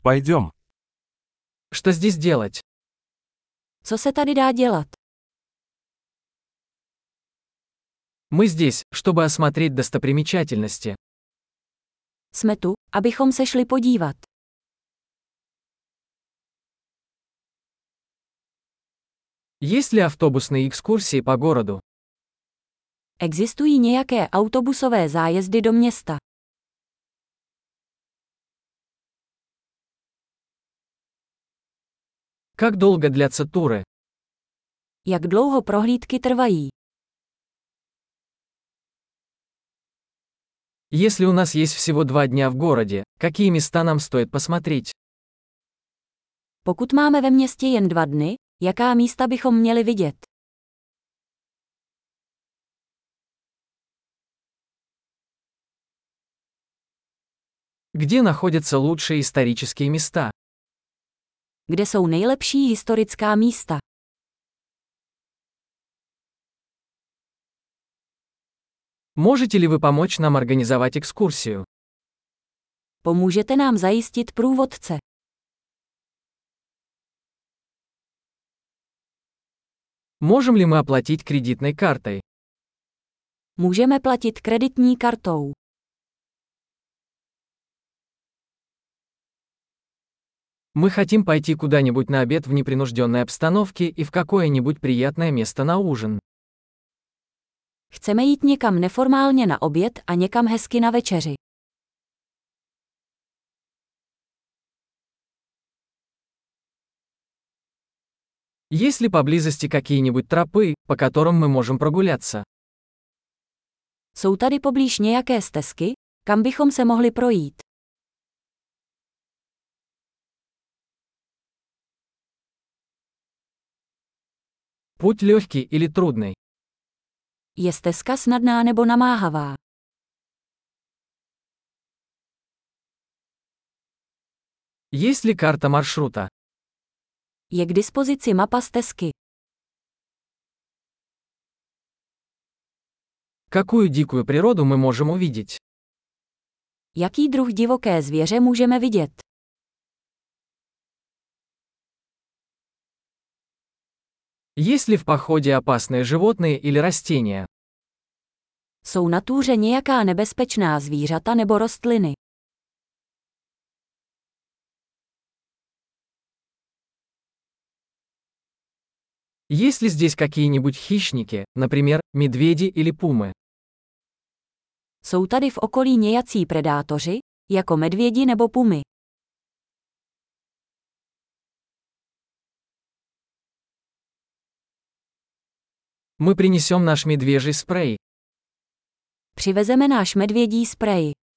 Пойдем. Что здесь делать? Co se tady dá dělat? Мы здесь, чтобы осмотреть достопримечательности. Jsme tu, abychom se šli podívat. Есть ли автобусные экскурсии по городу? Existují nějaké autobusové zájezdy do města. Как долго длятся туры? Jak dlouho prohlídky trvají? Если у нас есть всего 2 дня в городе, какие места нам стоит посмотреть? Pokud máme ve městě jen 2 dny, jaká místa bychom měli vidět? Где находятся лучшие исторические места? Kde jsou nejlepší historická místa? Можете ли вы помочь нам организовать экскурсию? Pomůžete nám zajistit průvodce. Можем ли мы оплатить кредитной картой? Můžeme platit kreditní kartou. Мы хотим пойти куда-нибудь на обед в непринужденной обстановке и в какое-нибудь приятное место на ужин. Chceme jít někam neformálně na oběd a někam hezky na večeři. Есть ли поблизости какие-нибудь тропы, по которым мы можем прогуляться? Jsou tady poblíž nějaké stezky, kam bychom se mohli projít? Путь легкий или трудный? Je stezka snadná nebo namáhavá? Есть ли карта маршрута? Je k dispozici mapa stezky. Какую дикую природу мы можем увидеть? Jaký druh divoké zvěře můžeme vidět? Есть ли в походе опасные животные или растения? Jsou na túře nějaká nebezpečná zvířata nebo rostliny? Есть ли здесь какие-нибудь хищники, например, медведи или пумы? Jsou tady v okolí nějací predátoři, jako medvědi nebo pumy? Мы принесем наш медвежий спрей. Přivezeme náš medvědí sprej.